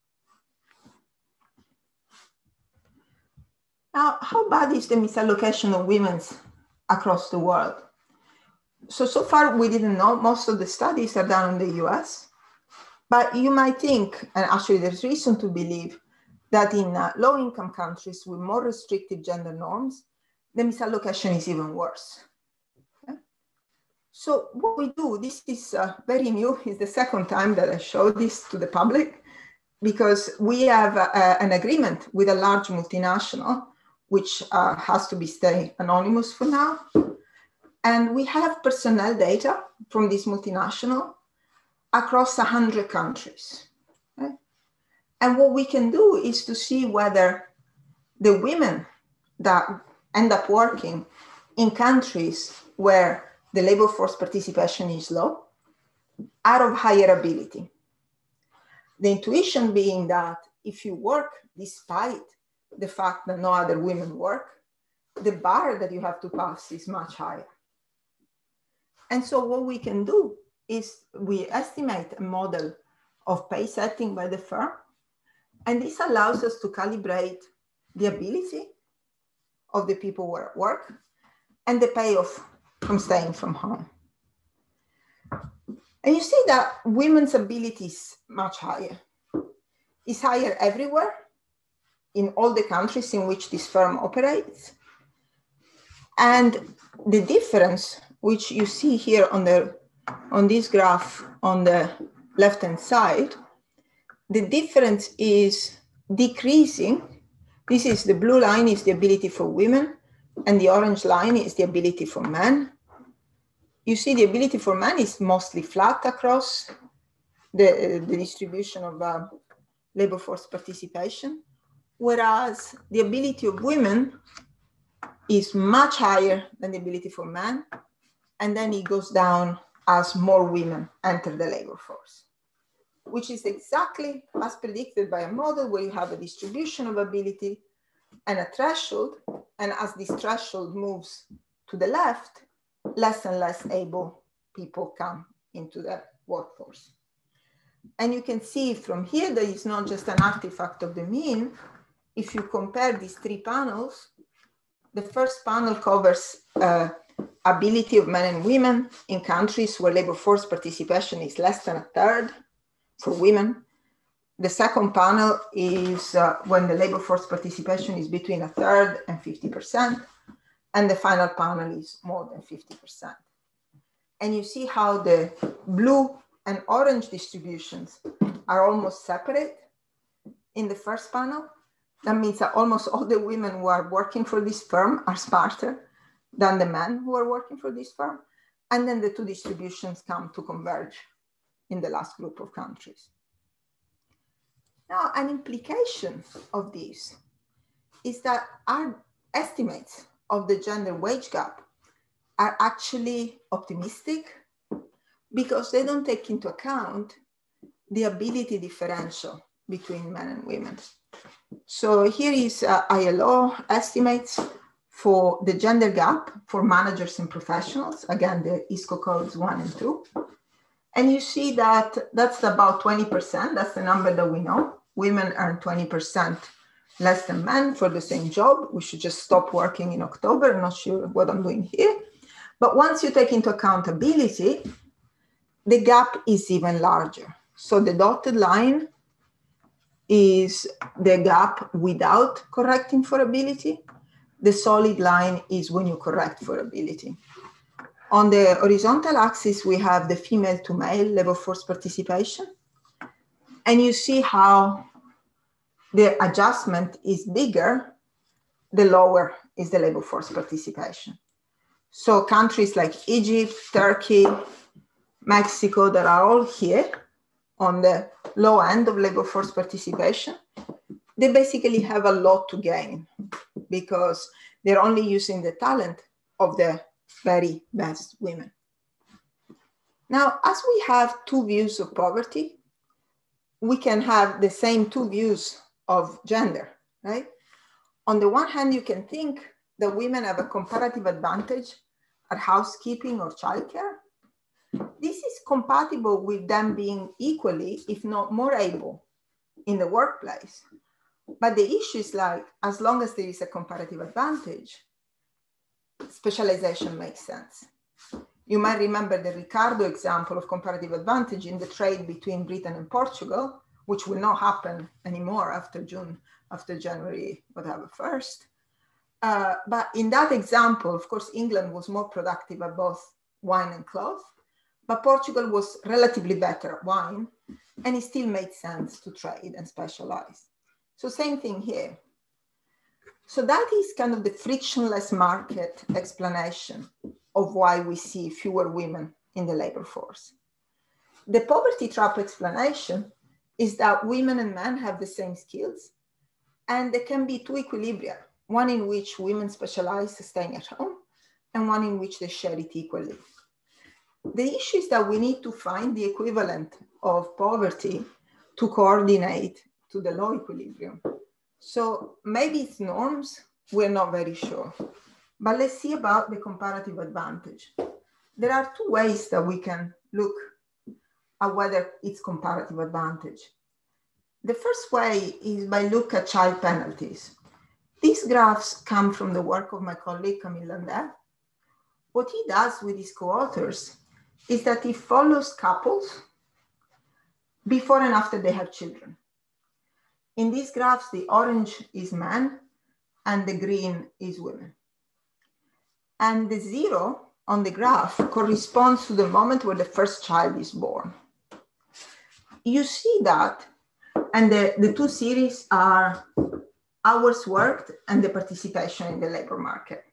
Now, how bad is the misallocation of women across the world? So far we didn't know. Most of the studies are done in the US, but you might think, and actually there's reason to believe, that in low-income countries with more restrictive gender norms, the misallocation is even worse. Okay? So what we do, this is very new, it's the second time that I show this to the public, because we have an agreement with a large multinational, which has to be stay anonymous for now. And we have personnel data from this multinational across 100 countries. Okay? And what we can do is to see whether the women that end up working in countries where the labor force participation is low are of higher ability. The intuition being that if you work despite the fact that no other women work, the bar that you have to pass is much higher. And so what we can do is we estimate a model of pay setting by the firm, and this allows us to calibrate the ability of the people who are at work and the payoff from staying from home. And you see that women's ability is much higher. It's higher everywhere in all the countries in which this firm operates. And the difference, which you see here on this graph on the left-hand side, the difference is decreasing. This is the blue line is the ability for women, and the orange line is the ability for men. You see the ability for men is mostly flat across the distribution of labor force participation, whereas the ability of women is much higher than the ability for men, and then it goes down as more women enter the labor force, which is exactly as predicted by a model where you have a distribution of ability and a threshold, and as this threshold moves to the left, less and less able people come into the workforce. And you can see from here that it's not just an artifact of the mean. If you compare these three panels, the first panel covers ability of men and women in countries where labor force participation is less than a third for women. The second panel is when the labor force participation is between a third and 50%. And the final panel is more than 50%. And you see how the blue and orange distributions are almost separate in the first panel. That means that almost all the women who are working for this firm are smarter than the men who are working for this firm. And then the two distributions come to converge in the last group of countries. Now, an implication of this is that our estimates of the gender wage gap are actually optimistic because they don't take into account the ability differential between men and women. So here is ILO estimates for the gender gap for managers and professionals. Again, the ISCO codes 1 and 2. And you see that that's about 20%. That's the number that we know. Women earn 20% less than men for the same job. We should just stop working in October. I'm not sure what I'm doing here. But once you take into accountability, the gap is even larger. So the dotted line is the gap without correcting for ability. The solid line is when you correct for ability. On the horizontal axis, we have the female to male labor force participation. And you see how the adjustment is bigger, the lower is the labor force participation. So countries like Egypt, Turkey, Mexico, that are all here on the low end of labor force participation, they basically have a lot to gain because they're only using the talent of the very best women. Now, as we have two views of poverty, we can have the same two views of gender, right? On the one hand, you can think that women have a comparative advantage at housekeeping or childcare. This is compatible with them being equally, if not more able in the workplace. But the issue is like, as long as there is a comparative advantage, specialization makes sense. You might remember the Ricardo example of comparative advantage in the trade between Britain and Portugal, which will not happen anymore after January, whatever, 1st. But in that example, of course, England was more productive at both wine and cloth, but Portugal was relatively better at wine, and it still made sense to trade and specialize. So same thing here. So that is kind of the frictionless market explanation of why we see fewer women in the labor force. The poverty trap explanation is that women and men have the same skills, and there can be two equilibria, one in which women specialize staying at home, and one in which they share it equally. The issue is that we need to find the equivalent of poverty to coordinate to the low equilibrium. So maybe it's norms, we're not very sure. But let's see about the comparative advantage. There are two ways that we can look at whether it's comparative advantage. The first way is by look at child penalties. These graphs come from the work of my colleague Camille Landais. What he does with his co-authors is that he follows couples before and after they have children. In these graphs, the orange is men and the green is women. And the 0 on the graph corresponds to the moment where the first child is born. You see that, and the two series are hours worked and the participation in the labor market.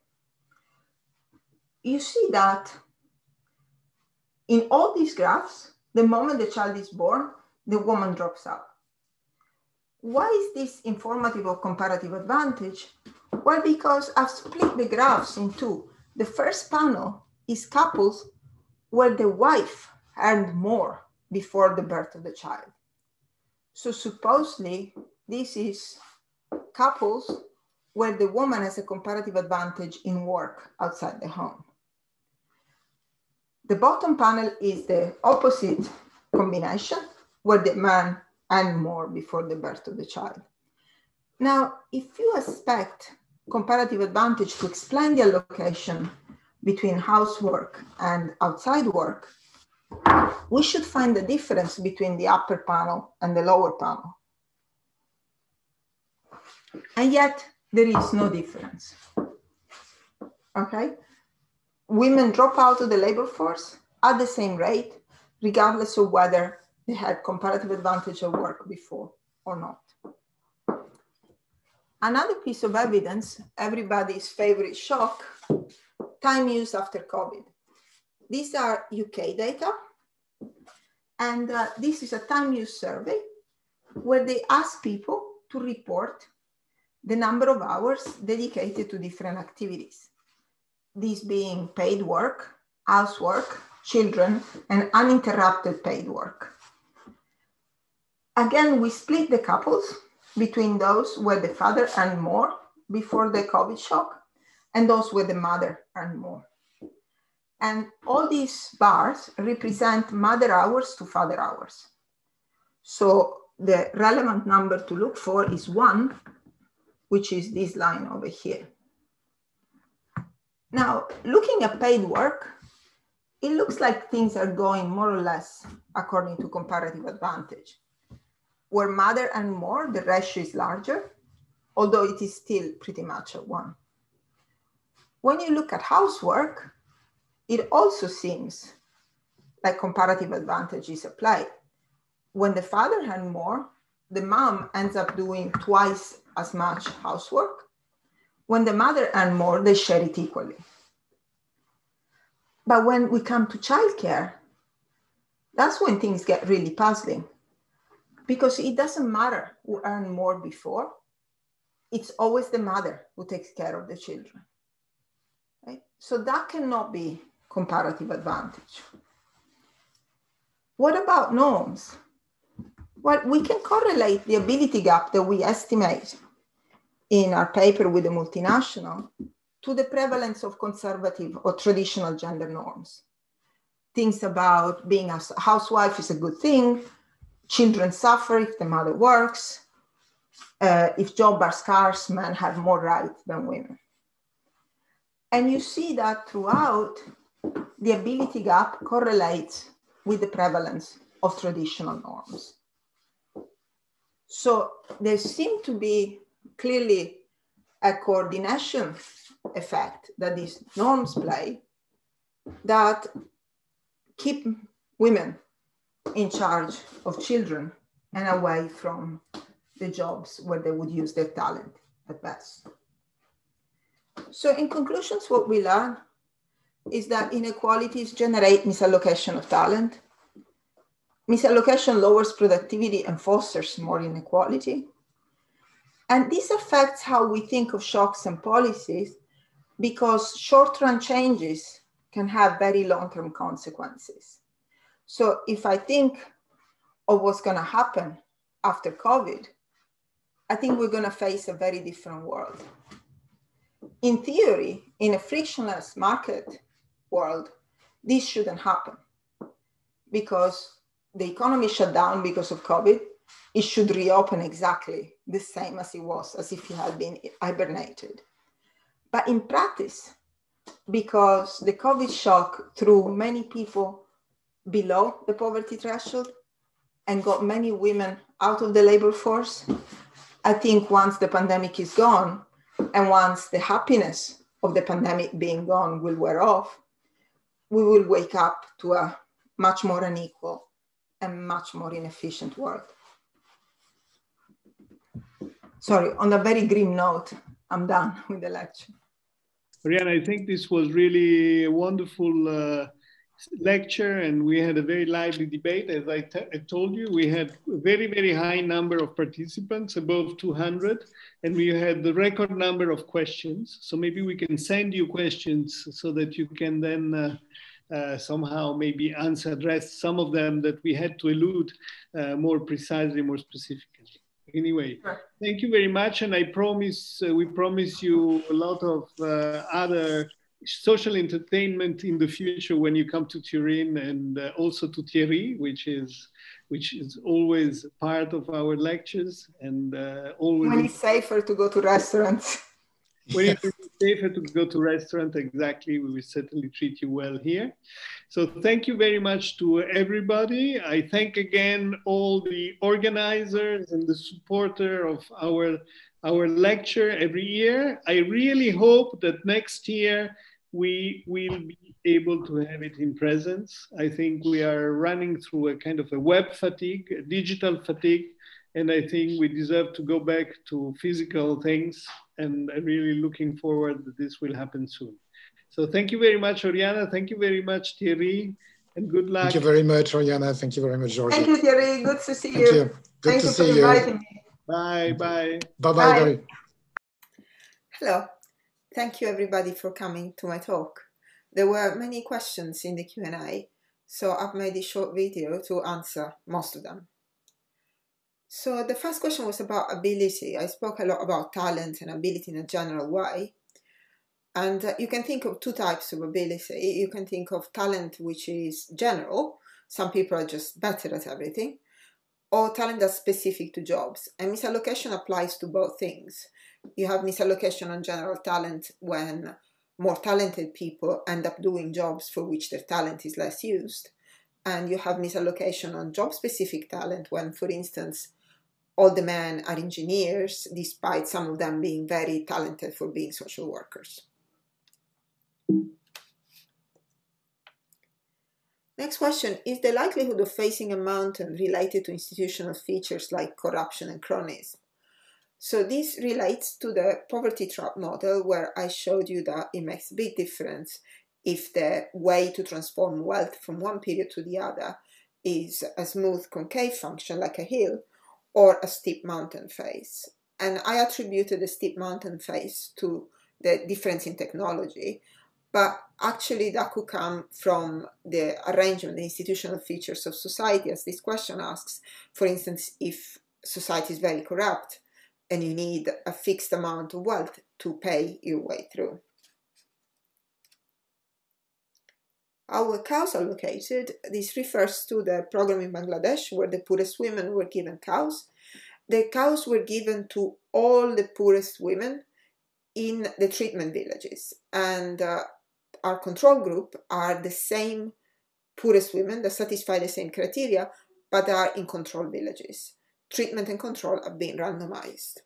You see that in all these graphs, the moment the child is born, the woman drops out. Why is this informative of comparative advantage? Well, because I've split the graphs in two. The first panel is couples where the wife earned more before the birth of the child. So supposedly, this is couples where the woman has a comparative advantage in work outside the home. The bottom panel is the opposite combination, where the man earned more before the birth of the child. Now, if you expect comparative advantage to explain the allocation between housework and outside work, we should find the difference between the upper panel and the lower panel. And yet, there is no difference, okay? Women drop out of the labor force at the same rate, regardless of whether they had comparative advantage at work before or not. Another piece of evidence, everybody's favorite shock, time used after COVID. These are UK data, and this is a time use survey where they ask people to report the number of hours dedicated to different activities. These being paid work, housework, children, and uninterrupted paid work. Again, we split the couples between those where the father earned more before the COVID shock and those where the mother earned more. And all these bars represent mother hours to father hours. So the relevant number to look for is 1, which is this line over here. Now, looking at paid work, it looks like things are going more or less according to comparative advantage. where mother earn more, the ratio is larger, although it is still pretty much at 1. When you look at housework, it also seems like comparative advantage is applied. When the father earns more, the mom ends up doing twice as much housework. When the mother earns more, they share it equally. But when we come to childcare, that's when things get really puzzling, because it doesn't matter who earned more before. It's always the mother who takes care of the children. Right? So that cannot be comparative advantage. What about norms? Well, we can correlate the ability gap that we estimate in our paper with the multinational to the prevalence of conservative or traditional gender norms. Things about being a housewife is a good thing, children suffer if the mother works, if jobs are scarce, men have more rights than women. And you see that throughout, the ability gap correlates with the prevalence of traditional norms. So there seems to be clearly a coordination effect that these norms play that keep women in charge of children and away from the jobs where they would use their talent at best. So in conclusions, what we learn is that inequalities generate misallocation of talent. Misallocation lowers productivity and fosters more inequality. And this affects how we think of shocks and policies, because short-run changes can have very long-term consequences. So if I think of what's going to happen after COVID, I think we're going to face a very different world. In theory, in a frictionless market world, this shouldn't happen, because the economy shut down because of COVID. It should reopen exactly the same as it was, as if it had been hibernated. But in practice, because the COVID shock threw many people below the poverty threshold and got many women out of the labor force, I think once the pandemic is gone, and once the happiness of the pandemic being gone will wear off, we will wake up to a much more unequal and much more inefficient world. Sorry, on a very grim note, I'm done with the lecture. Oriana, I think this was really a wonderful lecture, and we had a very lively debate. As I told you, we had a very, very high number of participants, above 200, and we had the record number of questions. So maybe we can send you questions so that you can then somehow maybe address some of them that we had to elude more precisely, more specifically. Anyway, thank you very much, and I promise we promise you a lot of other social entertainment in the future when you come to Turin, and also to Thierry, which is always part of our lectures, and always when it's safer to go to restaurants. When it is safer to go to restaurant, exactly, we will certainly treat you well here. So thank you very much to everybody. I thank again all the organizers and the supporter of our lecture every year. I really hope that next year we will be able to have it in presence. I think we are running through a kind of a web fatigue, a digital fatigue, and I think we deserve to go back to physical things, and I'm really looking forward that this will happen soon. So thank you very much, Oriana. Thank you very much, Thierry, and good luck. Thank you very much, Oriana. Thank you very much, Georgie. Thank you, Thierry. Good to see you. Thank you. Good to see you. Thank you for inviting me. Bye, bye. Bye-bye. Hello. Thank you, everybody, for coming to my talk. There were many questions in the Q&A, so I've made a short video to answer most of them. So the first question was about ability. I spoke a lot about talent and ability in a general way. And you can think of two types of ability. You can think of talent, which is general. Some people are just better at everything. Or talent that's specific to jobs. And misallocation applies to both things. You have misallocation on general talent when more talented people end up doing jobs for which their talent is less used. And you have misallocation on job-specific talent when, for instance, all the men are engineers, despite some of them being very talented for being social workers. Next question, is the likelihood of facing a mountain related to institutional features like corruption and cronyism? So this relates to the poverty trap model, where I showed you that it makes a big difference if the way to transform wealth from one period to the other is a smooth concave function like a hill, or a steep mountain face. And I attributed the steep mountain face to the difference in technology, but actually that could come from the arrangement, the institutional features of society, as this question asks. For instance, if society is very corrupt and you need a fixed amount of wealth to pay your way through. How were cows allocated? This refers to the program in Bangladesh where the poorest women were given cows. The cows were given to all the poorest women in the treatment villages, and our control group are the same poorest women that satisfy the same criteria, but are in control villages. Treatment and control are being randomized.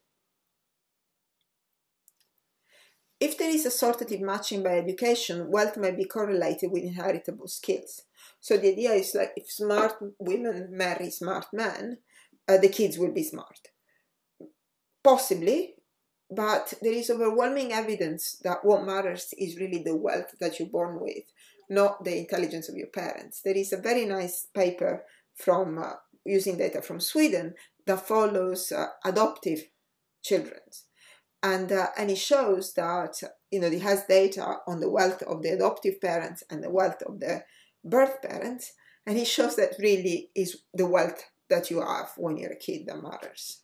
If there is assortative matching by education, wealth may be correlated with inheritable skills. So the idea is like if smart women marry smart men, the kids will be smart. Possibly, but there is overwhelming evidence that what matters is really the wealth that you're born with, not the intelligence of your parents. There is a very nice paper from using data from Sweden that follows adoptive children. And it shows that, it has data on the wealth of the adoptive parents and the wealth of the birth parents. And it shows that really is the wealth that you have when you're a kid that matters.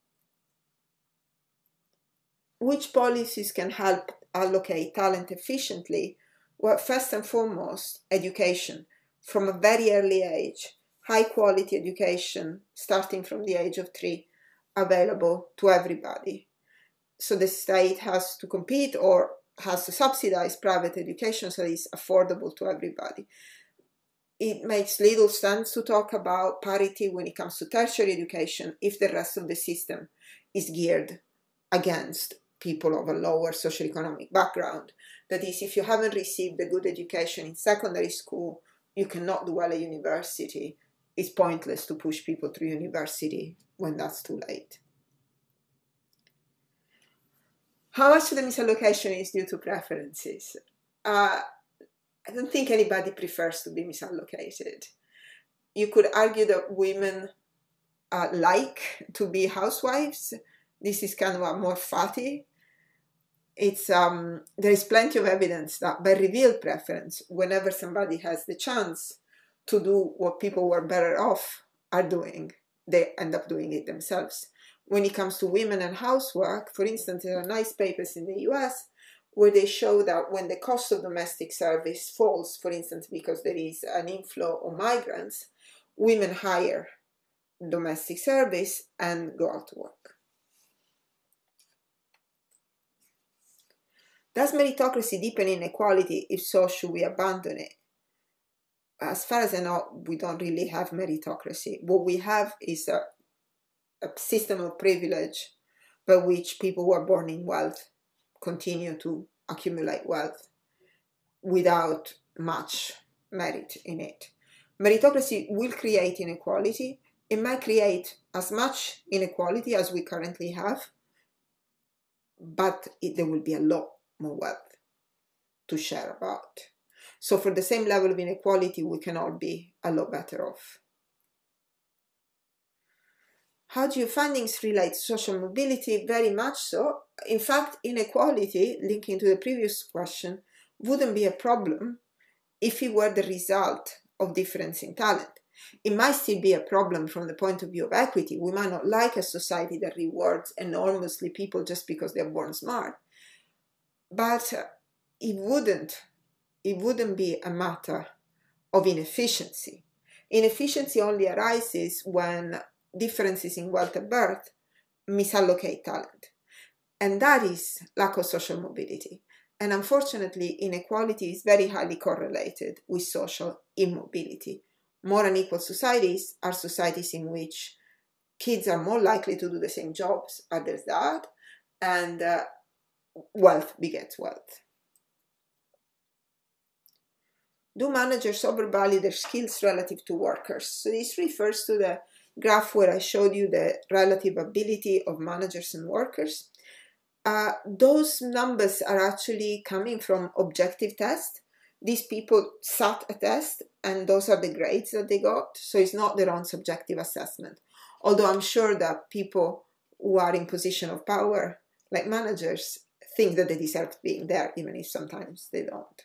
Which policies can help allocate talent efficiently? Well, first and foremost, education. From a very early age, high quality education, starting from the age of 3, available to everybody. So the state has to compete or has to subsidize private education so it's affordable to everybody. It makes little sense to talk about parity when it comes to tertiary education if the rest of the system is geared against people of a lower socioeconomic background. That is, if you haven't received a good education in secondary school, you cannot do well at university. It's pointless to push people through university when that's too late. How much of the misallocation is due to preferences? I don't think anybody prefers to be misallocated. You could argue that women like to be housewives. This is kind of a more fatty. There is plenty of evidence that by revealed preference, whenever somebody has the chance to do what people who are better off are doing, they end up doing it themselves. When it comes to women and housework, for instance, there are nice papers in the US where they show that when the cost of domestic service falls, for instance, because there is an inflow of migrants, women hire domestic service and go out to work. Does meritocracy deepen inequality? If so, should we abandon it? As far as I know, we don't really have meritocracy. What we have is a system of privilege by which people who are born in wealth continue to accumulate wealth without much merit in it. Meritocracy will create inequality. It might create as much inequality as we currently have, but there will be a lot more wealth to share about. So for the same level of inequality, we can all be a lot better off. How do your findings relate to social mobility? Very much so. In fact, inequality, linking to the previous question, wouldn't be a problem if it were the result of difference in talent. It might still be a problem from the point of view of equity. We might not like a society that rewards enormously people just because they're born smart. But it wouldn't be a matter of inefficiency. Inefficiency only arises when differences in wealth at birth misallocate talent. And that is lack of social mobility. And unfortunately, inequality is very highly correlated with social immobility. More unequal societies are societies in which kids are more likely to do the same jobs as their dad, and wealth begets wealth. Do managers overvalue their skills relative to workers? So this refers to the graph where I showed you the relative ability of managers and workers. Those numbers are actually coming from objective tests. These people sat a test, and those are the grades that they got. So it's not their own subjective assessment. Although I'm sure that people who are in position of power, like managers, think that they deserve being there, even if sometimes they don't.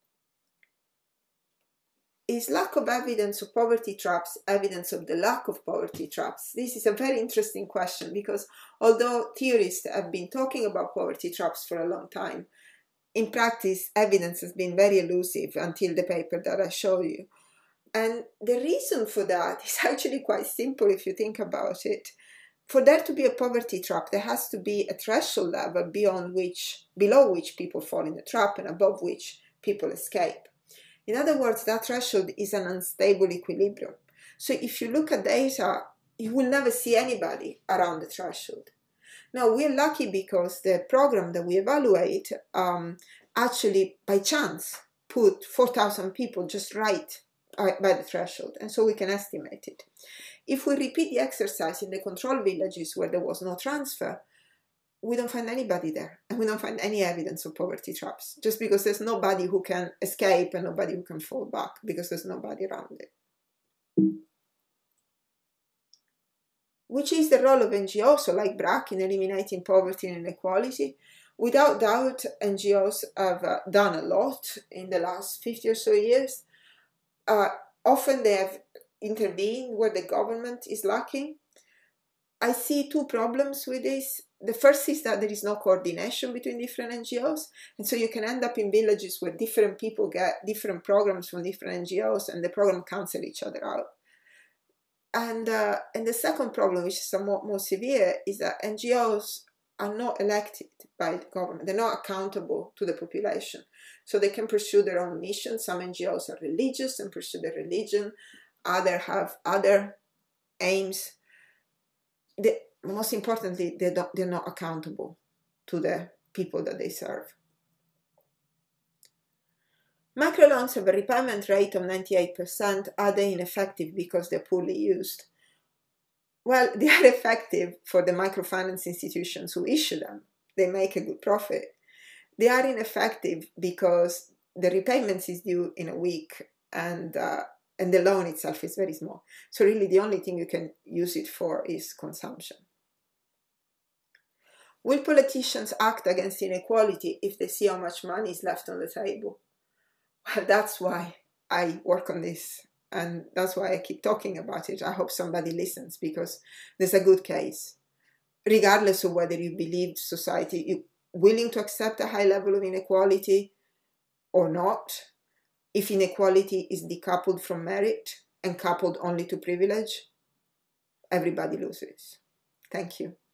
Is lack of evidence of poverty traps evidence of the lack of poverty traps? This is a very interesting question, because although theorists have been talking about poverty traps for a long time, in practice, evidence has been very elusive until the paper that I showed you. And the reason for that is actually quite simple if you think about it. For there to be a poverty trap, there has to be a threshold level below which people fall in the trap and above which people escape. In other words, that threshold is an unstable equilibrium. So if you look at data, you will never see anybody around the threshold. Now, we're lucky because the program that we evaluate actually, by chance, put 4,000 people just right by the threshold, and so we can estimate it. If we repeat the exercise in the control villages where there was no transfer, we don't find anybody there, and we don't find any evidence of poverty traps, just because there's nobody who can escape and nobody who can fall back, because there's nobody around it. Which is the role of NGOs, so like BRAC, in eliminating poverty and inequality? Without doubt, NGOs have done a lot in the last 50 or so years. Often they have intervened where the government is lacking. I see two problems with this. The first is that there is no coordination between different NGOs, and so you can end up in villages where different people get different programs from different NGOs, and the program cancel each other out. And the second problem, which is somewhat more severe, is that NGOs are not elected by the government. They're not accountable to the population. So they can pursue their own mission. Some NGOs are religious and pursue their religion. Others have other aims. Most importantly, they're not accountable to the people that they serve. Microloans have a repayment rate of 98%. Are they ineffective because they're poorly used? Well, they are effective for the microfinance institutions who issue them. They make a good profit. They are ineffective because the repayments is due in a week, and the loan itself is very small. So really the only thing you can use it for is consumption. Will politicians act against inequality if they see how much money is left on the table? Well, that's why I work on this, and that's why I keep talking about it. I hope somebody listens, because there's a good case. Regardless of whether you believe society is willing to accept a high level of inequality or not, if inequality is decoupled from merit and coupled only to privilege, everybody loses. Thank you.